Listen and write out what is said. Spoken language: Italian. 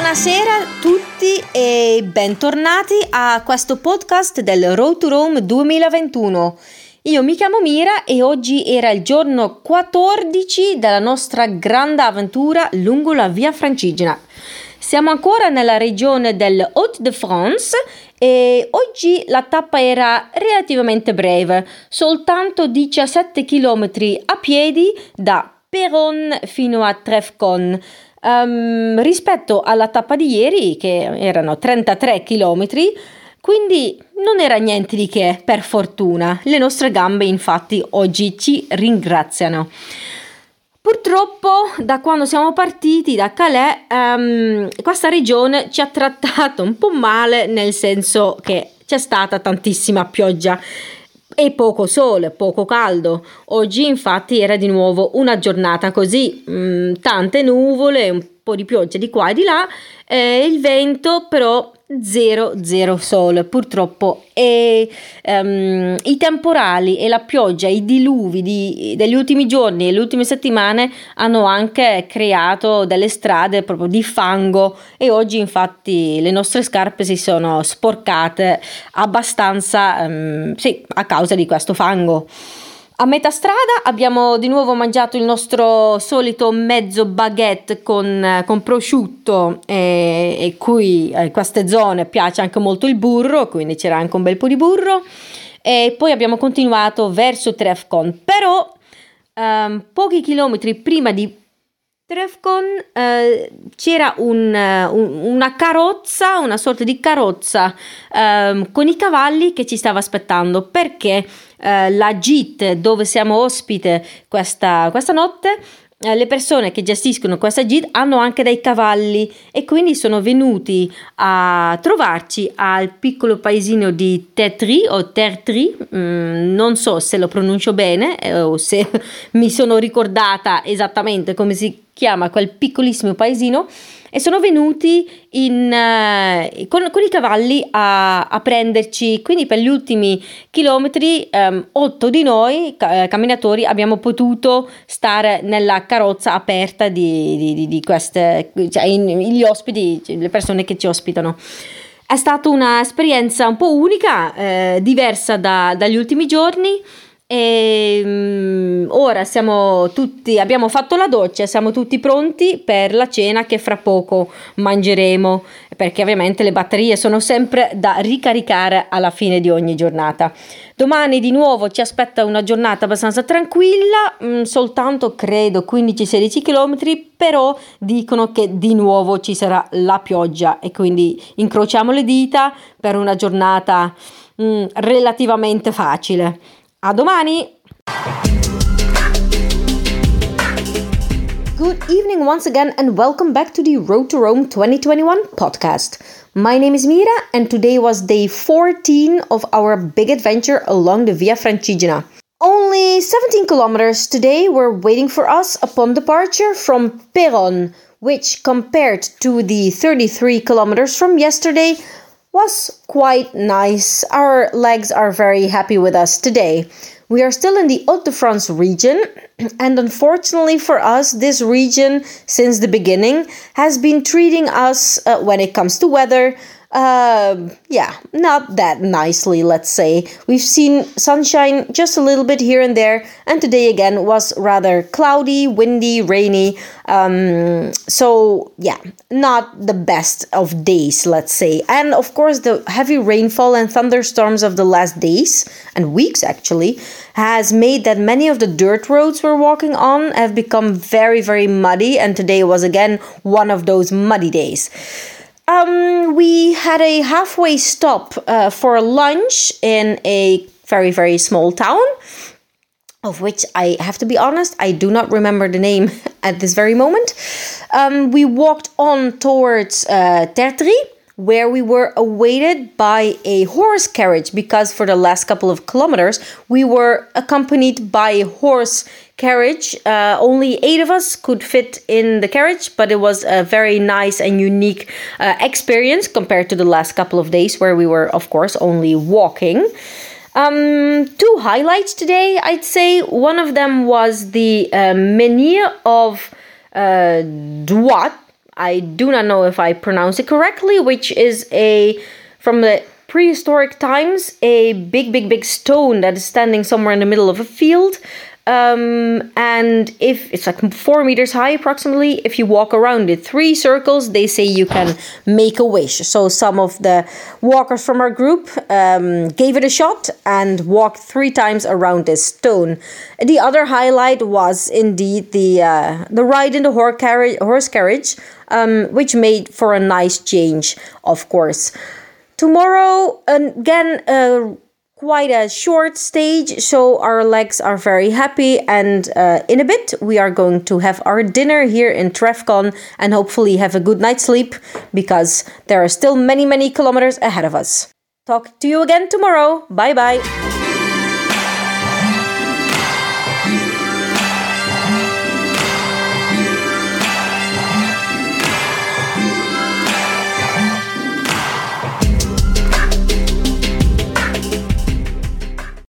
Buonasera a tutti e bentornati a questo podcast del Road to Rome 2021. Io mi chiamo Mira e oggi era il giorno 14 della nostra grande avventura lungo la Via Francigena. Siamo ancora nella regione del Hauts-de-France e oggi la tappa era relativamente breve, soltanto 17 km a piedi da Péronne fino a Trèfcon. Rispetto alla tappa di ieri, che erano 33 km, quindi non era niente di che, per fortuna. Le nostre gambe infatti oggi ci ringraziano. Purtroppo da quando siamo partiti da Calais questa regione ci ha trattato un po' male, nel senso che c'è stata tantissima pioggia e poco sole, poco caldo. Oggi infatti era di nuovo una giornata così, tante nuvole, un po' di pioggia di qua e di là, il vento però zero sole purtroppo, e i temporali e la pioggia, i diluvi degli ultimi giorni e le ultime settimane hanno anche creato delle strade proprio di fango e oggi infatti le nostre scarpe si sono sporcate abbastanza a causa di questo fango. A metà strada abbiamo di nuovo mangiato il nostro solito mezzo baguette con prosciutto e qui in queste zone piace anche molto il burro, quindi c'era anche un bel po' di burro, e poi abbiamo continuato verso Trèfcon, però pochi chilometri prima di Trèfcon c'era una carrozza, una sorta di carrozza con i cavalli che ci stava aspettando, perché la gite dove siamo ospite questa notte, le persone che gestiscono questa gite hanno anche dei cavalli e quindi sono venuti a trovarci al piccolo paesino di Tertry o Tertry, non so se lo pronuncio bene o se mi sono ricordata esattamente come si chiama quel piccolissimo paesino, e sono venuti con i cavalli a prenderci. Quindi per gli ultimi chilometri 8 di noi camminatori abbiamo potuto stare nella carrozza aperta di queste, cioè gli ospiti, le persone che ci ospitano. È stata un'esperienza un po' unica, diversa dagli ultimi giorni. E ora abbiamo fatto la doccia, siamo tutti pronti per la cena che fra poco mangeremo, perché ovviamente le batterie sono sempre da ricaricare alla fine di ogni giornata. Domani di nuovo ci aspetta una giornata abbastanza tranquilla, soltanto credo 15-16 km, però dicono che di nuovo ci sarà la pioggia e quindi incrociamo le dita per una giornata relativamente facile. A domani! Good evening once again and welcome back to the Road to Rome 2021 podcast. My name is Mira and today was day 14 of our big adventure along the Via Francigena. Only 17 kilometers today were waiting for us upon departure from Péronne, which compared to the 33 kilometers from yesterday was quite nice. Our legs are very happy with us today. We are still in the Hauts-de-France region, and unfortunately for us, this region, since the beginning, has been treating us, when it comes to weather, not that nicely, let's say. We've seen sunshine just a little bit here and there, and today again was rather cloudy, windy, rainy, not the best of days, let's say. And of course, the heavy rainfall and thunderstorms of the last days, and weeks actually, has made that many of the dirt roads we're walking on have become very, very muddy, and today was again one of those muddy days. We had a halfway stop for lunch in a very, very small town, of which I have to be honest, I do not remember the name at this very moment. We walked on towards Tertry, where we were awaited by a horse carriage, because for the last couple of kilometers we were accompanied by a horse carriage. Only 8 of us could fit in the carriage, but it was a very nice and unique experience compared to the last couple of days where we were, of course, only walking. 2 highlights today, I'd say. One of them was the menhir of Douat. I do not know if I pronounce it correctly, which is from the prehistoric times, a big stone that is standing somewhere in the middle of a field. And if it's like 4 meters high approximately, if you walk around it 3 circles, they say you can make a wish. So some of the walkers from our group gave it a shot and walked 3 times around this stone. The other highlight was indeed the ride in the horse carriage, which made for a nice change, of course. Tomorrow, again, quite a short stage, so our legs are very happy, and in a bit we are going to have our dinner here in Trefcon and hopefully have a good night's sleep, because there are still many kilometers ahead of us. Talk to you again tomorrow. Bye bye.